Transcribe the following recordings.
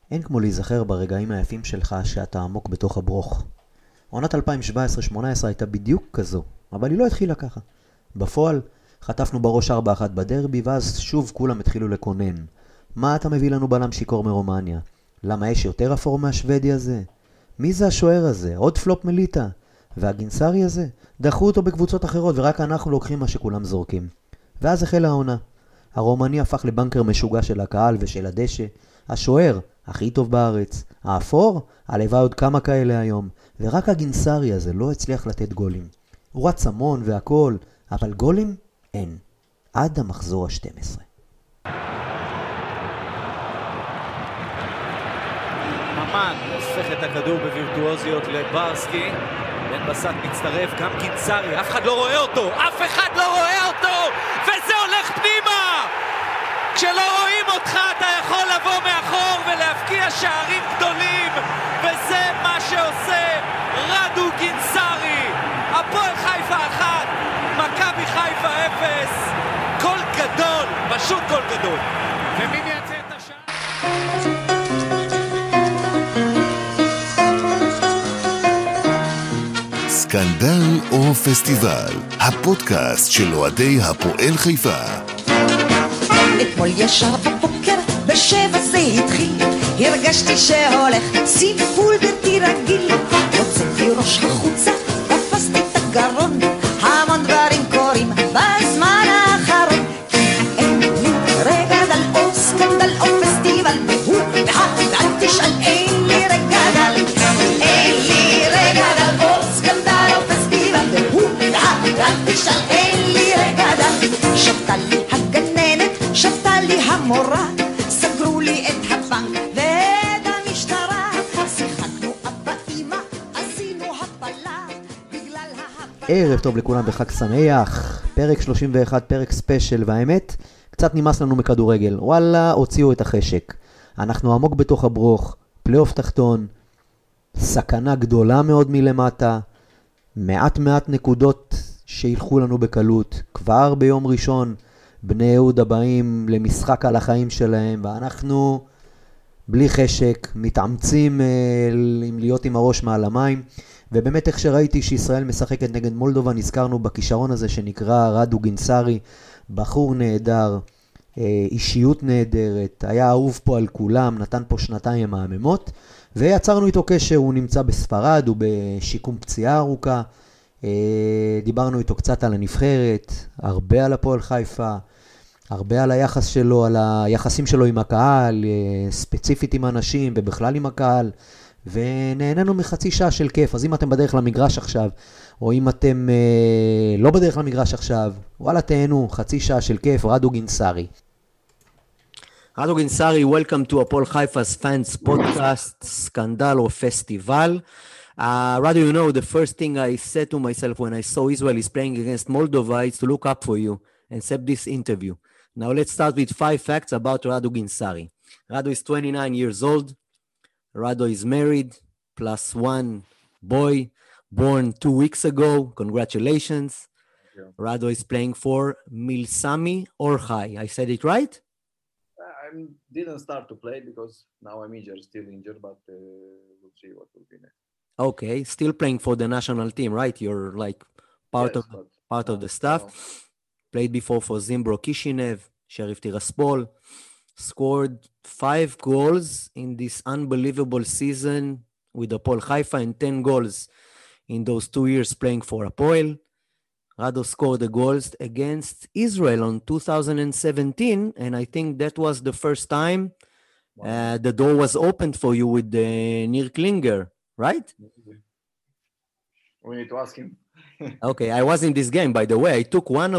אין כמו להיזכר ברגעים היפים שלך שאתה עמוק בתוך הברוך. עונת 2017-2018 הייתה בדיוק כזו, אבל היא לא התחילה ככה. בפועל, חטפנו בראש 4-1 בדרבי, ואז שוב כולם התחילו לקונן. מה אתה מביא לנו בלם שיקור מרומניה? למה יש יותר אפור מהשוודי הזה? מי זה השוער הזה? עוד פלופ מליטה? והגינסרי הזה? דחו אותו בקבוצות אחרות ורק אנחנו לוקחים מה שכולם זורקים. ואז החלה העונה. הרומני הפך לבנקר משוגע של הקהל ושל הדשא. השוער, הכי טוב בארץ. האפור, הלוואי עוד כמה כאלה היום. ורק הגינסרי הזה לא הצליח לתת גולים. הוא רץ המון והכל, אבל גולים אין. עד המחזור ה-12. ממן הופך את הכדור בווירטואוזיות לברסקי. בן בסט מצטרף, גם גינסרי, אף אחד לא רואה אותו! אף אחד לא רואה אותו! וזה הולך פנימה! כשלא רואים אותך אתה יכול לבוא מאחור ולהפקיע שערים גדולים, וזה מה שעושה רדו גינסרי. הפועל חיפה 1, מכבי חיפה 0. גול גדול, פשוט גול גדול. ומי מייצר את השער? סקנדל או פסטיבל, הפודקאסט של אוהדי הפועל חיפה. אתמול ישר בבוקר, בשבע זה התחיל, הרגשתי שהולך סיפול בלתי רגיל. הוצאתי ראש החוצה, תפסתי את הגרון, המון דברים קורים בזמן האחרון. אין לי רגע דל או סקנדל או פסטיבל, והוא ואל תשאל, אין לי רגע דל. אין לי רגע דל או סקנדל או פסטיבל, והוא ואל תשאל, אין לי רגע דל. שבתה לי הגננת, שבתה לי המורה, סגרו לי את הבנק ואת המשטרה. שיחקנו אבא אמא, עשינו הפלה בגלל ערב טוב לכולם וחג שמח. פרק 31, פרק ספיישל, והאמת, קצת נמאס לנו מכדורגל. וואלה, הוציאו את החשק. אנחנו עמוק בתוך הברוך, פלייאוף תחתון, סכנה גדולה מאוד מלמטה, מעט נקודות שילכו לנו בקלות. כבר ביום ראשון בני יהודה באים למשחק על החיים שלהם, ואנחנו בלי חשק מתאמצים להיות עם הראש מעל המים. ובאמת איך שראיתי שישראל משחקת נגד מולדובה, נזכרנו בכישרון הזה שנקרא רדו גינסרי. בחור נהדר, אישיות נהדרת, היה אהוב פה על כולם, נתן פה שנתיים מהממות, ויצרנו איתו קשר. הוא נמצא בספרד, הוא בשיקום פציעה ארוכה. דיברנו איתו קצת על הנבחרת, הרבה על הפועל חיפה, הרבה על היחס שלו, על היחסים שלו עם הקהל, ספציפית עם אנשים ובכלל עם הקהל, ונהנינו מחצי שעה של כיף. אז אם אתם בדרך למגרש עכשיו, או אם אתם לא בדרך למגרש עכשיו, וואלה תהנו, חצי שעה של כיף. רדו גינסרי. Rado Ginsari, welcome to Apol Haifa's fans podcast, Scandal or Festival. Rado, you know, the first thing I said to myself when I saw Israel is playing against Moldova is to look up for you and set this interview. Now let's start with 5 facts about Rado Ginsari. Rado is 29 years old. Rado is married, plus 1 boy, born 2 weeks ago. Congratulations. Rado is playing for Milsami Orhai. I said it right? I didn't start to play because now I'm injured, still injured, but we'll see what will be next. Okay, still playing for the national team, right? You're like part Yes, of the staff. no. Played before for Zimbro Kishinev, Sheriff Tiraspol. Scored 5 goals in this unbelievable season with Apol Haifa and 10 goals in those 2 years playing for Apol. Rado scored the goals against Israel on 2017, and I think that was the first time the door was opened for you with Nir Klinger, right? We need to ask him. Okay, I was in this game, by the way. I took one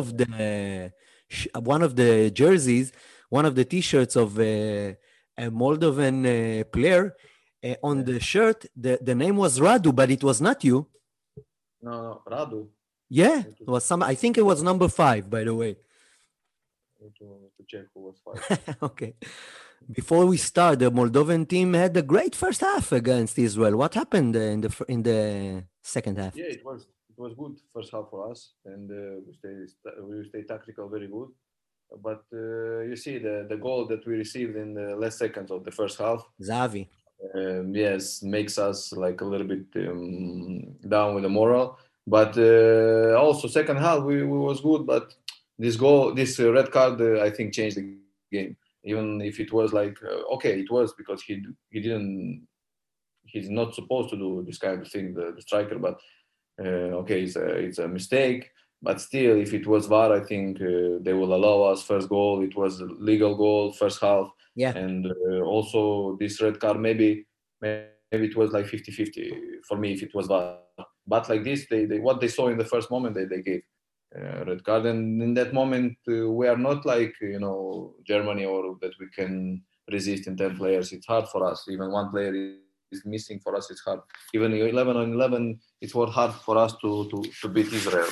of the jerseys, one of the T-shirts of a Moldovan player. On the shirt, the name was Radu, but it was not you. No, Radu. Yeah, it was some. I think it was number 5, by the way. Need to check who was 5. Okay. Before we start, the Moldovan team had a great first half against Israel. What happened in the second half? Yeah, it was good first half for us, and we stay tactical very good. But you see the goal that we received in the last seconds of the first half. Zahavi. Yes, makes us like a little bit down with the moral. But also second half we was good. But this red card, I think changed the game. Even if it was like okay, it was because he didn't. He's not supposed to do this kind of thing, the striker. But okay, it's a mistake. But still, if it was VAR, I think they will allow us first goal. It was a legal goal, first half. Yeah. And also this red card, maybe it was like 50-50 for me if it was VAR. But like this, they what they saw in the first moment, they gave red card. And in that moment, we are not like, Germany or that we can resist in 10 players. It's hard for us. Even one player is missing for us. It's hard. Even 11 on 11, it was hard for us to beat Israel.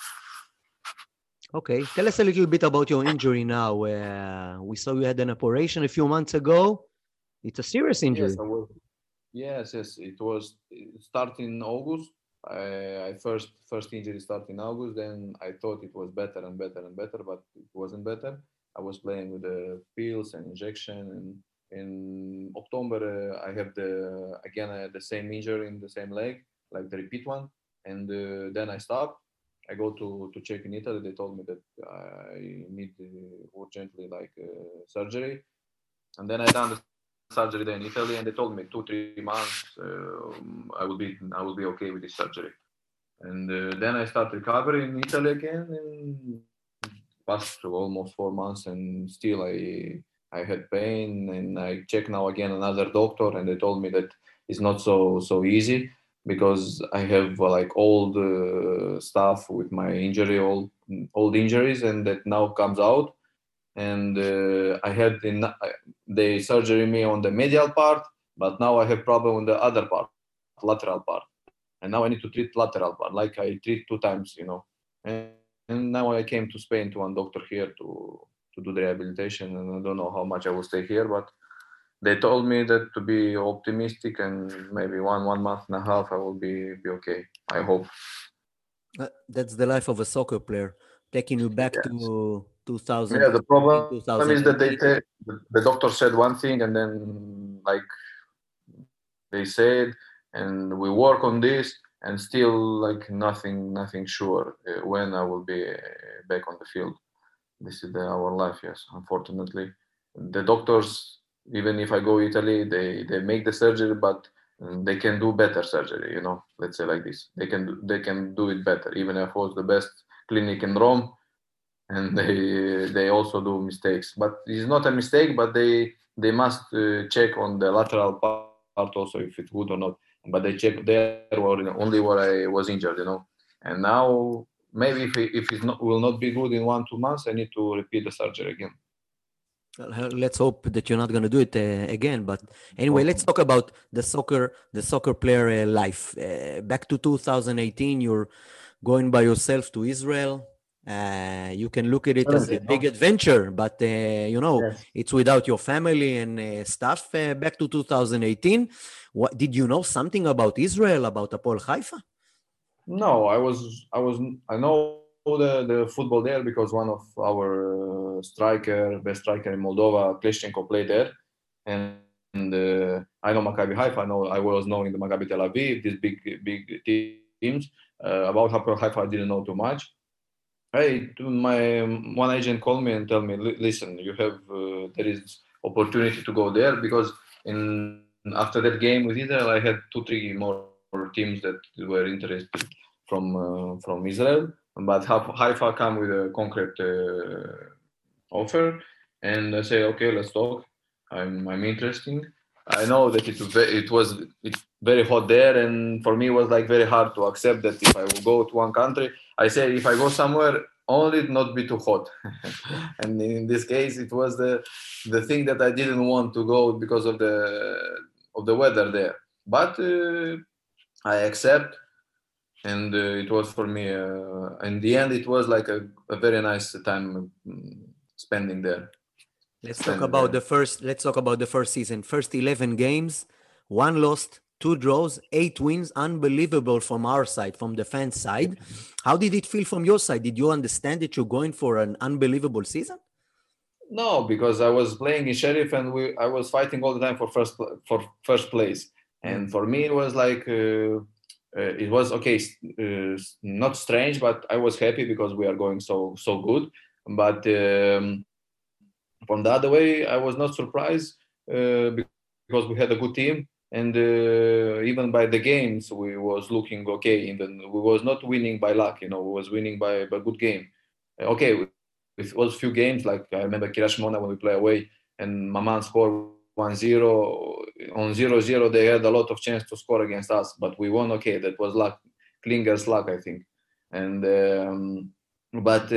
Okay, tell us a little bit about your injury now. We saw you had an operation a few months ago. It's a serious injury. Yes, it was. It started in August. I first injury started in August. Then I thought it was better and better and better, but it wasn't better. I was playing with the pills and injection, and in October I have the same injury in the same leg, like the repeat one, and then I stopped. I go to check in Italy. They told me that I need urgently surgery, and then I done the surgery there in Italy, and they told me 2-3 months I will be okay with this surgery. And then I start recovery in Italy again, and passed through almost 4 months, and still I had pain, and I check now again another doctor, and they told me that it's not so easy because I have old stuff with my injury, old injuries, and that now comes out. And I had they surgery me on the medial part, but now I have problem on the other part, lateral part, and now I need to treat lateral part, like I treat 2 times, And now I came to Spain to one doctor here to do the rehabilitation, and I don't know how much I will stay here, but they told me that to be optimistic and maybe 1 month and a half I will be okay. I hope. That's the life of a soccer player, taking you back to 2000. Yeah, the problem is that the doctor said one thing, and then they said, and we work on this, and still nothing sure when I will be back on the field. This is our life, yes. Unfortunately, the doctors, even if I go Italy, they make the surgery, but they can do better surgery. Let's say like this. They can do it better. Even if it was the best clinic in Rome, and they also do mistakes. But it's not a mistake, but they must check on the lateral part also if it's good or not. But they check there only where I was injured, And now maybe if it will not be good in 1-2 months, I need to repeat the surgery again. Let's hope that you're not going to do it again. But anyway, let's talk about the soccer player life. Back to 2018, you're going by yourself to Israel. You can look at it as a big adventure, but yes. It's without your family and stuff. Back to 2018, what did you know something about Israel, about Hapoel Haifa? No, I know the football there because one of our best striker in Moldova, Kleshchenko, played there, and I know Maccabi Haifa. I was knowing the Maccabi Tel Aviv, these big teams. About Hapoel Haifa, I didn't know too much. My one agent called me and told me, listen, you have there is opportunity to go there because after that game with Israel, I had 2-3 more teams that were interested from Israel, but Haifa come with a concrete offer, and I say, okay, let's talk. I'm interesting. I know that it's very hot there, and for me it was very hard to accept that if I will go to one country, I say if I go somewhere, only not be too hot. And in this case, it was the thing that I didn't want to go because of the weather there. But I accept, and it was for me. In the end, it was like a very nice time spending there. Let's talk about the first season. First 11 games, 1 lost, 2 draws, 8 wins. Unbelievable from our side, from the fan side. How did it feel from your side? Did you understand that you're going for an unbelievable season? No, because I was playing in Sheriff and I was fighting all the time for first place. And for me, it was like it was okay, not strange, but I was happy because we are going so good. But from the other way, I was not surprised because we had a good team, and even by the games, we was looking okay. Even we was not winning by luck, we was winning by good game. Okay, it was few games, like I remember Kiryat Shmona when we play away and Maman scored 1-0. On 0-0, they had a lot of chance to score against us, but we won. Okay, that was luck, Klinger's luck, I think. And but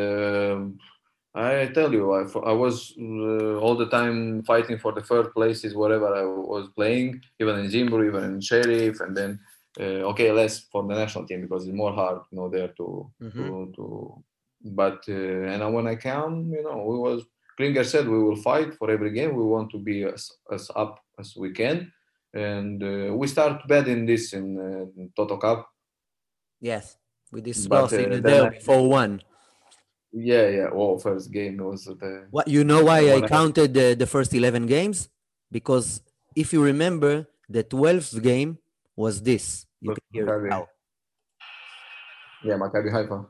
I tell you, I was all the time fighting for the third places wherever I was playing, even in Zimbabwe, even in Sheriff, and then less for the national team because it's more hard, there to. But and when I came, Klinger said we will fight for every game. We want to be as up as we can, and we start bad in this in Toto Cup. Yes, with this loss in the derby 4-1. Yeah. Oh, first game was the. What why I counted the first 11 games? Because if you remember, the 12th game was this. You can hear it now. Yeah, Maccabi Haifa.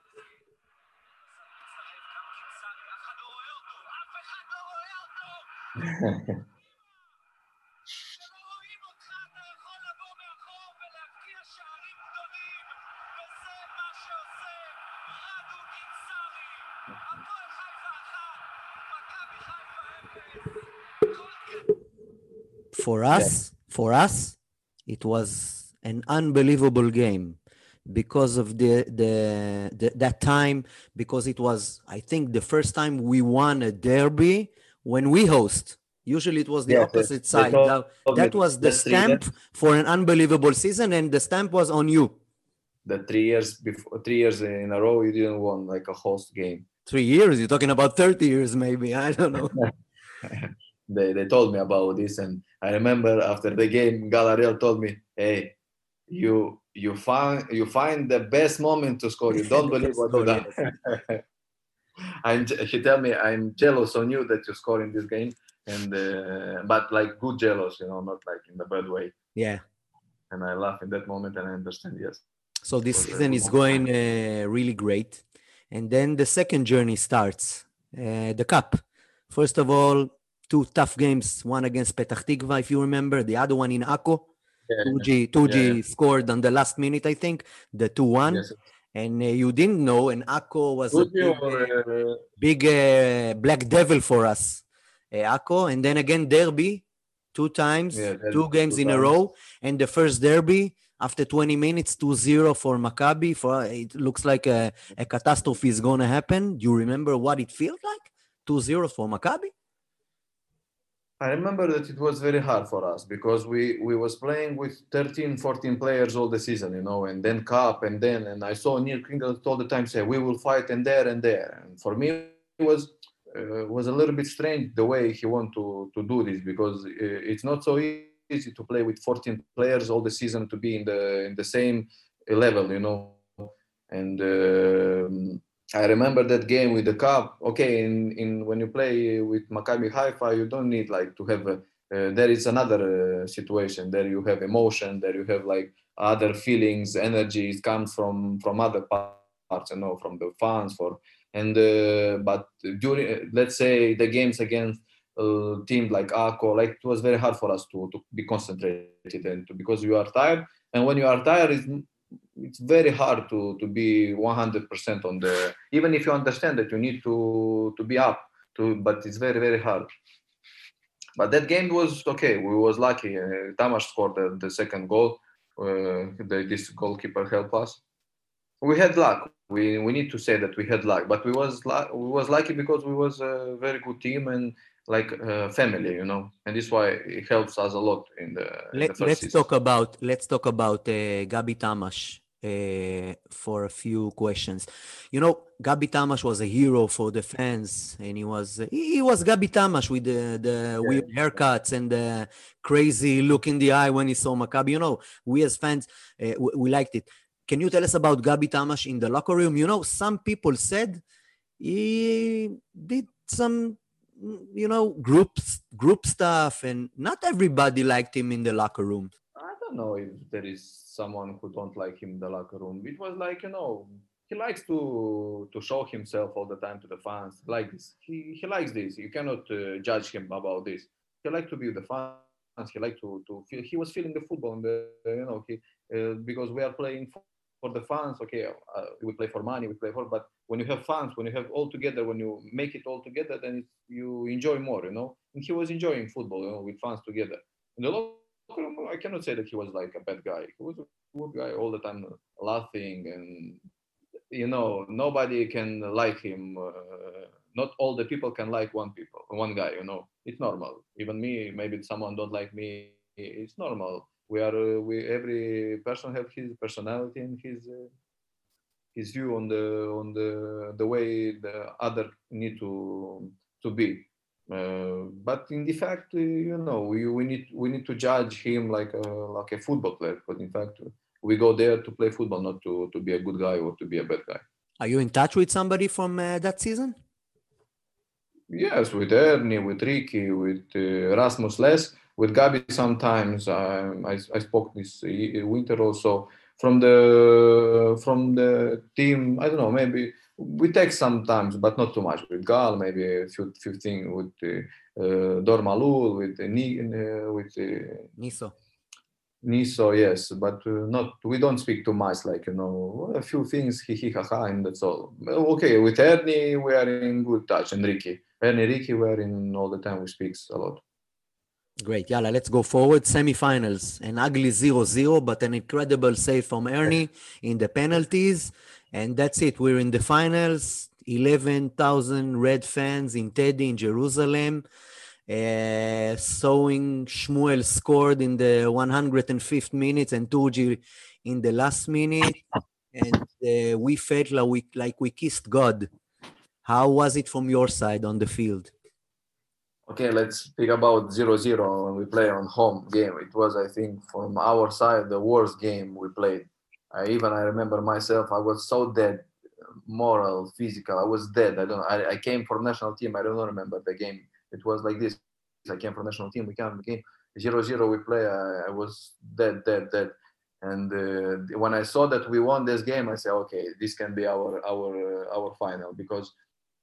For us, it was an unbelievable game because of that time, because it was, I think, the first time we won a derby when we host. Usually it was the opposite side. That was the stamp for an unbelievable season, and the stamp was on you. The 3 years before, 3 years in a row, you didn't win like a host game. 3 years? You're talking about 30 years, maybe. I don't know. They told me about this, and I remember after the game, Galariel told me, "Hey, you find the best moment to score. You don't believe what you done." He tell me, "I'm jealous on you that you score in this game." And but like good jealous, not like in the bad way. Yeah. And I laugh in that moment, and I understand. Yes. So this season is going really great, and then the second journey starts, the cup. First of all, 2 tough games, one against Petach Tikva, if you remember, the other one in Akko. Tuji scored on the last minute, I think, the 2-1. Yes. And you didn't know, and Akko was a big black devil for us. Akko, and then again Derby, 2 times, 2 games in a row, and the first Derby after 20 minutes, 2-0 for Maccabi. It looks like a catastrophe is going to happen. Do you remember what it feels like? 2-0 for Maccabi? I remember that it was very hard for us because we was playing with 13, 14 players all the season, and then cup, and I saw Neil Kringle all the time say, we will fight and there. And for me, it was a little bit strange the way he want to do this, because it's not so easy to play with 14 players all the season, to be in the same level, and I remember that game with the cup. Okay, in when you play with Maccabi Haifa, you don't need like to have there is another situation. There you have emotion. There you have like other feelings, energy. It comes from other parts, from the fans. But during, let's say, the games against teams like Akko, like it was very hard for us to be concentrated, and because you are tired. And when you are tired, it's very hard to be 100% on the, even if you understand that you need to be up but it's very, very hard. But that game was okay. We was lucky. Tamas scored the second goal. This goalkeeper helped us. We had luck. We need to say that we had luck, but we was lucky because we was a very good team and like family, and this is why it helps us a lot in the first season. Let's talk about Gabi Tamas for a few questions. Gabi Tamas was a hero for the fans, and he was Gabi Tamas with the weird haircuts and the crazy look in the eye when he saw Maccabi. We as fans, we liked it. Can you tell us about Gabi Tamas in the locker room? Some people said he did some, group stuff, and not everybody liked him in the locker room. I don't know if there is someone who don't like him in the locker room. It was like, he likes to show himself all the time to the fans. Like this, he likes this. You cannot judge him about this. He liked to be with the fans. He liked to feel. He was feeling the football, and because we are playing for the fans. Okay, we play for money. We play for. But when you have fans, when you have all together, when you make it all together, then you enjoy more. And he was enjoying football, with fans together. In the locker room, I cannot say that he was like a bad guy. He was a good guy all the time, laughing, and nobody can like him. Not all the people can like one guy. It's normal. Even me, maybe someone don't like me. It's normal. Every person have his personality and his view on the way the other need to be. But in the fact, we need to judge him like a football player. But in fact, we go there to play football, not to be a good guy or to be a bad guy. Are you in touch with somebody from that season? Yes, with Ernie, with Ricky, with Rasmus less, with Gabi sometimes. I spoke this winter also from the team. I don't know, maybe we text sometimes, but not too much. With Gal, maybe a few things with Dormalul, with Niso, yes, but we don't speak too much, like, a few things, he, ha, and that's all. Okay, with Ernie, we are in good touch, and Ricky, we are in all the time, we speak a lot. Great, yalla, let's go forward. Semi-finals, an ugly 0-0, but an incredible save from Ernie in the penalties, and that's it. We're in the finals, 11,000 Red fans in Teddy in Jerusalem. Showing Shmuel scored in the 105th minute and Turji in the last minute, and we felt like we kissed God. How was it from your side on the field? Okay, let's speak about 0-0 when we play on home game. It was, I think, from our side, the worst game we played. I remember myself, I was so dead, moral, physical. I was dead. I came for national team. I don't remember the game. It was like this. I came from national team. We came again 0-0. We play. I was dead. And when I saw that we won this game, I said, okay, this can be our final, because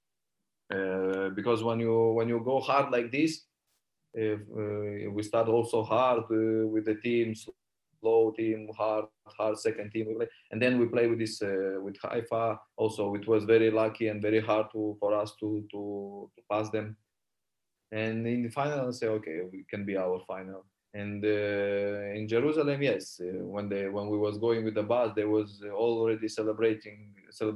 when you go hard like this, we start also hard with the team, slow team, hard second team, and then we play with this with Haifa. Also, it was very lucky and very hard for us to pass them. And in the final, I say, okay, we can be our final. And in Jerusalem, yes, when we was going with the bus, they was already celebrating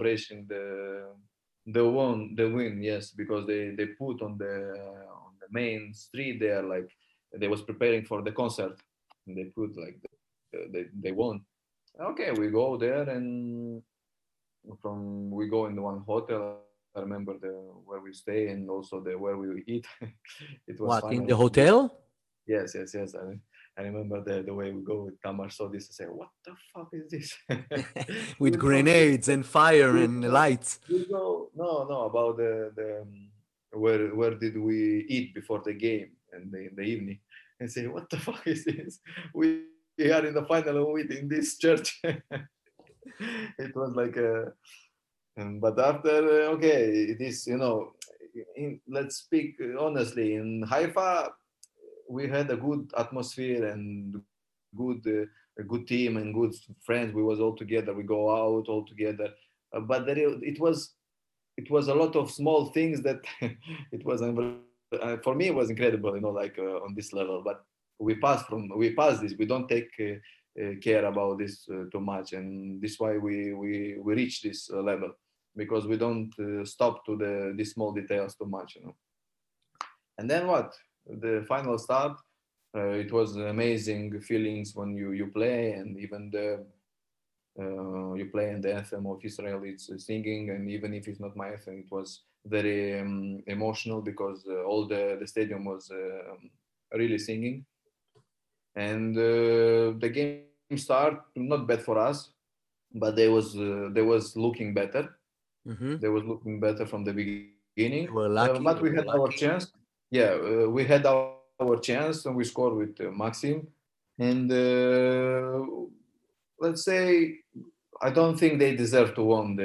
the win, yes, because they put on the main street there, like they was preparing for the concert, and they put like they won. Okay, we go there, and we go in one hotel. I remember where we stay and also where we eat. It was what, in the hotel? Yes. I remember the way we go with Tamar saw this and say, what the fuck is this? With grenades and fire and lights. No, about the where did we eat before the game and in the evening, and say, what the fuck is this? We are in the final in this church. It was like but after, okay, it is, let's speak honestly, in Haifa, we had a good atmosphere and a good team and good friends. We was all together. We go out all together. But it was a lot of small things that it was for me it was incredible, like on this level. But we pass this. We don't take care about this too much, and this is why we reach this level, because we don't stop to these small details too much, And then what? The final start, it was amazing feelings when you play, and even you play in the anthem of Israel, it's singing, and even if it's not my anthem, it was very emotional, because all the stadium was really singing. And the game start not bad for us, but they was looking better. They was looking better from the beginning. You were lucky. But we had our chance. Yeah, we had our chance and we scored with Maxim. And let's say I don't think they deserve to win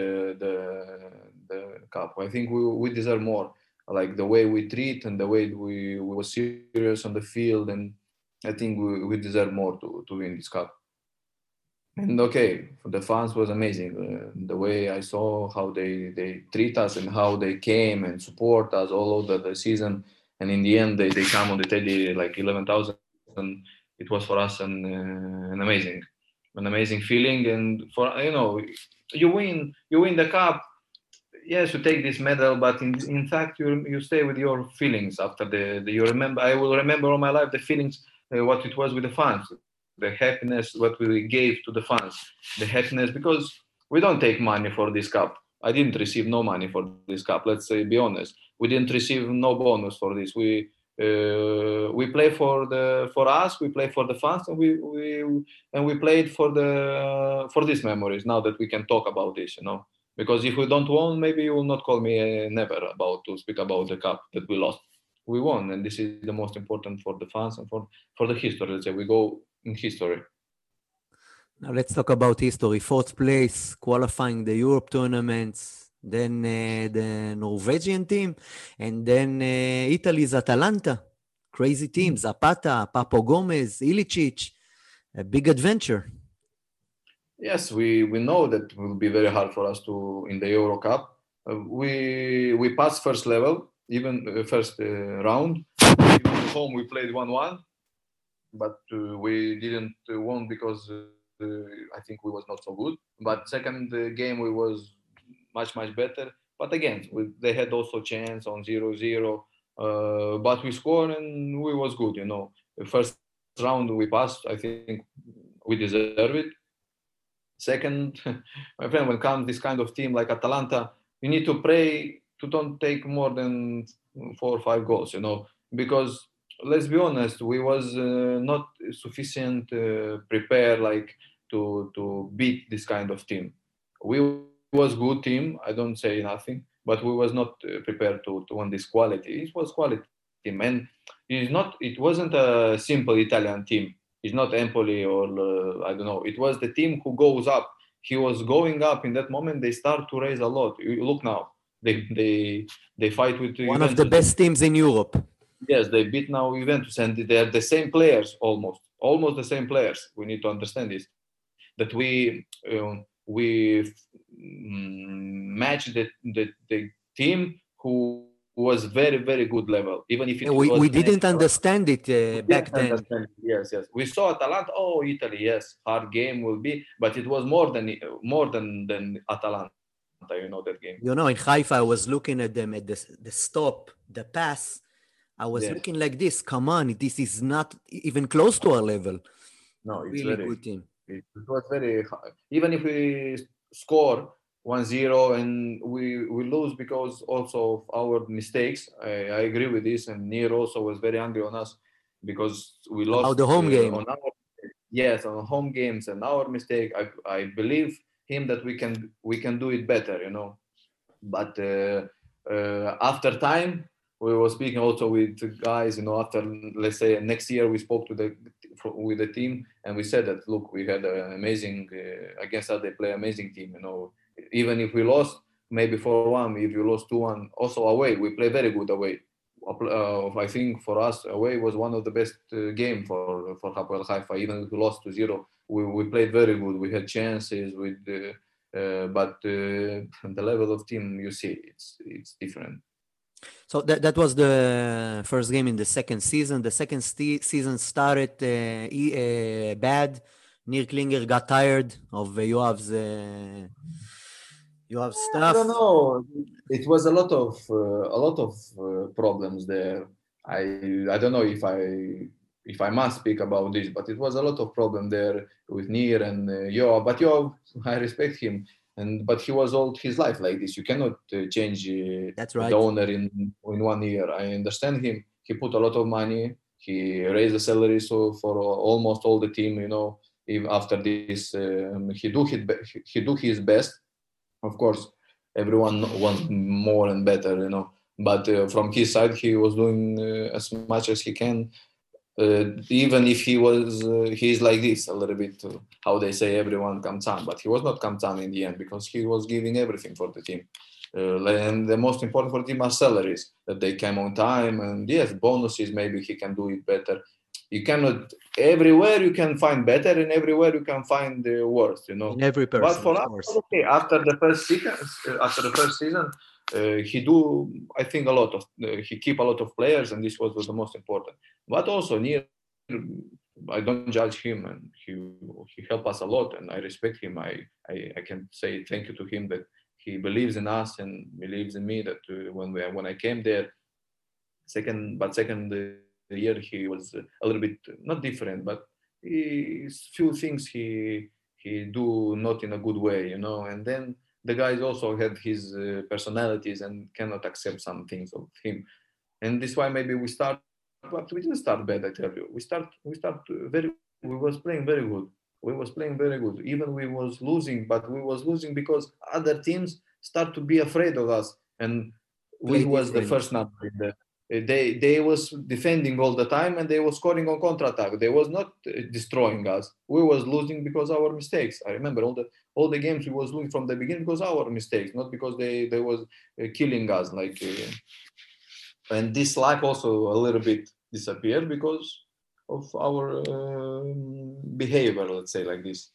the cup. I think we deserve more. Like the way we treat and the way we were serious on the field, and I think we deserve more to win this cup. And okay, for the fans was amazing. The way I saw how they treat us and how they came and support us all over the season. And in the end, they come on the teddy like 11,000. It was for us an amazing feeling. And for you win the cup. Yes, you take this medal, but in fact, you stay with your feelings after the you remember. I will remember all my life the feelings, what it was with the fans, the happiness what we gave to the fans, the happiness because we don't take money for this cup. I didn't receive no money for this cup. Let's say, be honest. We didn't receive no bonus for this. We play for us. We play for the fans, and we played for these memories. Now that we can talk about this, because if we don't won, maybe you will not call me never about to speak about the cup that we lost. We won, and this is the most important for the fans and for the history. Let's say we go in history. Now let's talk about history. Fourth place, qualifying the Europe tournaments, then the Norwegian team, and then Italy's Atalanta. Crazy team, Zapata, Papo Gomez, Ilicic. A big adventure. Yes, we know that will be very hard for us to in the Euro Cup. We passed first level, even first round. Even at home we played 1-1, but we didn't won because I think we was not so good. But second game we was much better. But again, they had also chance on 0-0. But we scored and we was good. The first round we passed. I think we deserve it. Second, my friend, when it comes this kind of team like Atalanta, you need to pray to don't take more than 4 or 5 goals, because let's be honest, we was not sufficient prepared like to beat this kind of team. We was good team, I don't say nothing, but we was not prepared to win this quality. It was quality team, and it wasn't a simple Italian team. It's not Empoli or I don't know. It was the team who goes up. He was going up in that moment. They start to raise a lot. You look now. They fight with one Juventus. Of the best teams in Europe. Yes, they beat now Juventus, and they are the same players almost the same players. We need to understand this. That we match the team who was very good level, even if it was we didn't understand it back then. Yes, we saw Atalanta. Oh, Italy, yes, hard game will be, but it was more than Atalanta. That game. In Haifa, I was looking at them at the stop, the pass. I was looking like this. Come on, this is not even close to our level. No, it's really good team. It was very hard. Even if we score 1-0 and we lose because also of our mistakes. I agree with this, and Nir also was very angry on us because we lost about the home game. On home games and our mistake. I believe him that we can do it better, But after time, we were speaking also with guys, after, let's say, next year we spoke with the team, and we said that, look, we had an amazing, against us they play amazing team, Even if we lost, maybe 4-1, if you lost 2-1, also away, we play very good away. I think for us, away was one of the best game for Hapoel Haifa. Even if we lost 2-0, we played very good. We had chances, but the level of team, you see, it's different. So that was the first game in the second season. The second season started bad. Nir Klinger got tired of Yoav's stuff. I don't know. It was a lot of problems there. I don't know if I must speak about this, but it was a lot of problem there with Nir and Yoav. But Yoav, I respect him. But he was all his life like this. You cannot change That's right. the owner in 1 year. I understand him. He put a lot of money. He raised the salary for almost all the team. Even after this, he do his best, of course. everyone wants more and better, you know. But from his side, he was doing as much as he can. Even if he's like this a little bit, how they say, everyone kamtsan, but he was not kamtsan in the end because he was giving everything for the team. And the most important for the team are salaries, that they came on time, and yes, bonuses, maybe he can do it better. You cannot, everywhere you can find better, and everywhere you can find the worst, you know. In every But person, for of us, course. okay, after the first season, he do, I think, a lot of, he keep a lot of players, and this was the most important. But also, Nir, I don't judge him, and he helped us a lot, and I respect him. I can say thank you to him that he believes in us and believes in me. That when I came there, second year he was a little bit not different, but few things he do not in a good way, you know. And then the guys also had his personalities and cannot accept some things of him, and this why maybe we start, but we didn't start bad. I tell you, we was playing very good. We was playing very good. Even we was losing, but we was losing because other teams start to be afraid of us, and we Play was the different. first number in the. They was defending all the time and they was scoring on counter-attack. They was not destroying us. We was losing because our mistakes. I remember all the games we was losing from the beginning because our mistakes, not because they was killing us like. And this lack also a little bit disappeared because of our behavior, let's say like this.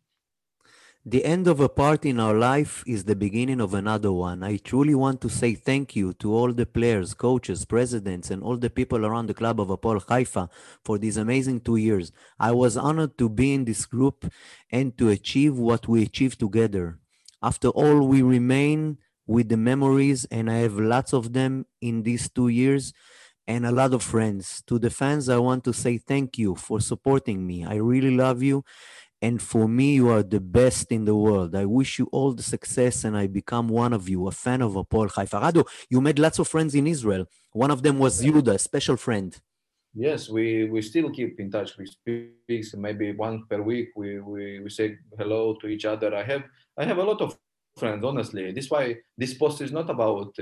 The end of a part in our life is the beginning of another one. I truly want to say thank you to all the players, coaches, presidents, and all the people around the club of Hapoel Haifa for these amazing 2 years. I was honored to be in this group and to achieve what we achieved together. After all, we remain with the memories, and I have lots of them in these 2 years and a lot of friends. To the fans, I want to say thank you for supporting me. I really love you. And for me, you are the best in the world. I wish you all the success and I become one of you, a fan of Hapoel Haifa. Rado, you made lots of friends in Israel. One of them was Yuda, a special friend. Yes, we still keep in touch. We speak maybe once per week. We say hello to each other. I have a lot of friends, honestly. This why this post is not about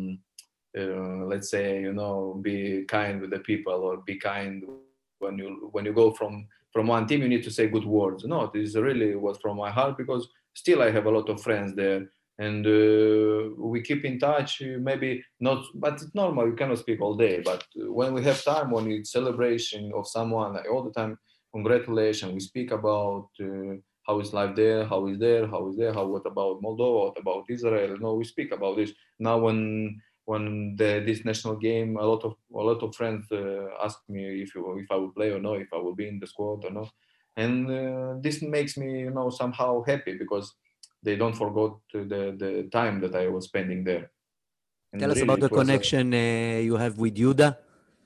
let's say, you know, be kind with the people or be kind when you go from one team. You need to say good words. No, this really was from my heart because still I have a lot of friends there, and we keep in touch. Maybe not, but it's normal. You cannot speak all day, but when we have time, when it's celebration of someone, all the time, congratulations. We speak about. How is life there? How is there? How is there? How? What about Moldova? What about Israel? No, we speak about this now. When this national game, a lot of friends ask me if I will play or no, if I will be in the squad or no, and this makes me, you know, somehow happy because they don't forget the time that I was spending there. And Tell us really, about the connection you have with Yuda.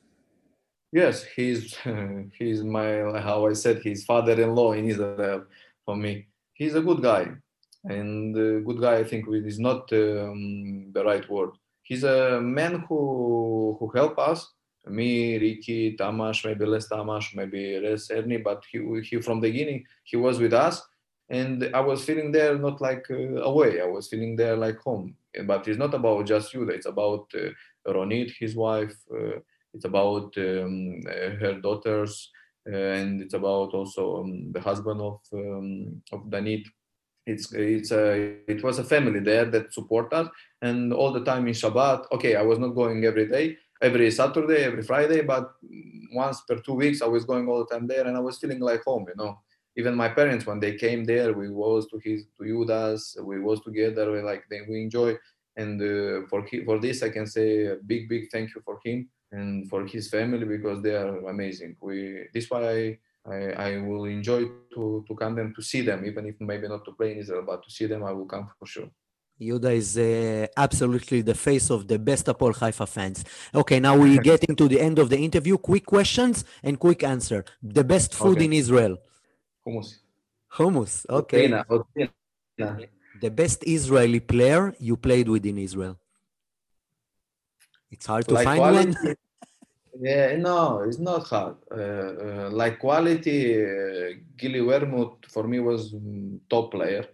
yes, he's my, how I said, his father-in-law in Israel for me. He's a good guy, and good guy, I think, is not the right word. He's a man who help us. Me, Ricky, Tamash, maybe less Tamash, maybe less Ernie, but he from the beginning he was with us, and I was feeling there not like away. I was feeling there like home. But it's not about just Yuda. It's about Ronit, his wife. It's about her daughters, and it's about also the husband of Danit. It was a family there that support us, and all the time in Shabbat. Okay, I was not going every day, every Saturday, every Friday, but once per 2 weeks I was going all the time there, and I was feeling like home. You know, even my parents when they came there, we was to Yudas, we was together, we enjoy. And for this I can say a big thank you for him and for his family because they are amazing. This why I will enjoy to come them to see them, even if maybe not to play in Israel, but to see them I will come for sure. Yuda is absolutely the face of the best Hapoel Haifa fans. Okay, now we're getting to the end of the interview. Quick questions and quick answer. The best food in Israel? Hummus. Hummus, okay. Otina. The best Israeli player you played with in Israel? It's hard to find quality, one. Yeah, no, it's not hard. Like quality, Gili Wermut for me was top player.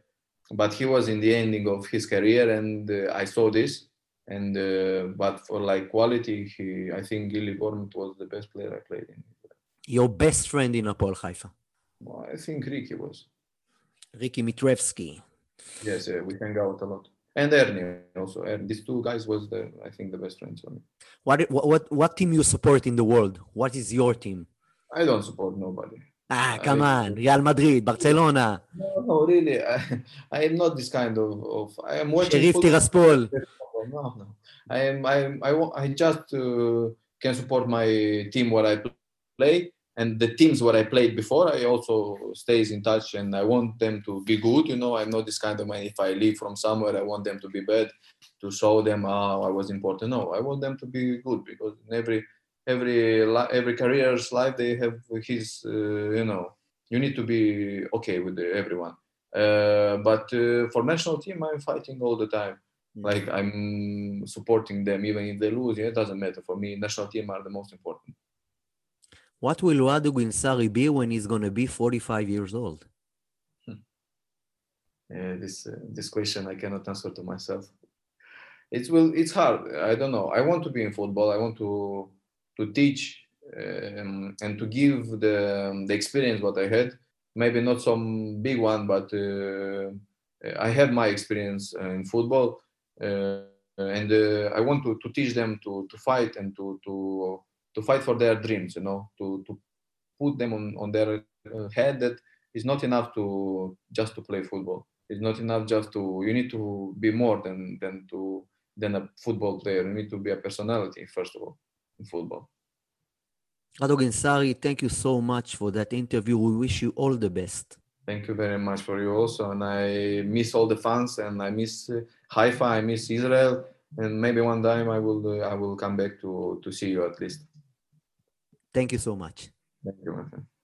but he was in the ending of his career, and I saw this. And but for like quality, I think Gilly Bournemouth was the best player I played in. Your best friend in Hapoel Haifa? Well, I think Ricky was. Ricky Mitrevsky. Yes, we hang out a lot. And Ernie also. And these two guys was I think the best friends for me. What team you support in the world? What is your team? I don't support nobody. Come on, Real Madrid, Barcelona. No, really. I am not this kind of I am watching Sheriff Tiraspol. No. I just can support my team where I play, and the teams where I played before, I also stays in touch, and I want them to be good. I'm not this kind of man. If I leave from somewhere, I want them to be bad, to show them how I was important. No, I want them to be good, because in every career's life they have his. You need to be okay with everyone. But for national team, I'm fighting all the time. Like I'm supporting them even if they lose. It doesn't matter for me. National team are the most important. What will Radu Ginsari be when he's going to be 45 years old? This question I cannot answer to myself. It's hard. I don't know. I want to be in football. I want to teach and to give the experience what I had. Maybe not some big one, but I had my experience in football, and I want to teach them to fight and to fight for their dreams. To put them on their head that it's not enough to just to play football. It's not enough just to. You need to be more than a football player. You need to be a personality first of all in football. Radu Ginsari, thank you so much for that interview. We wish you all the best. Thank you very much for you also. And I miss all the fans, and I miss Haifa, I miss Israel. And maybe one time I will come back to see you at least. Thank you so much. Thank you, my friend.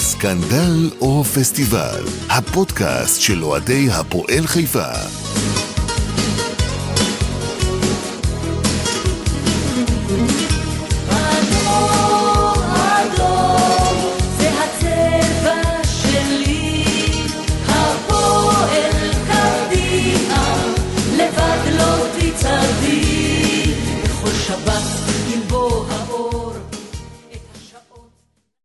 סקנדל או פסטיבל, הפודקאסט של אוהדי הפועל חיפה.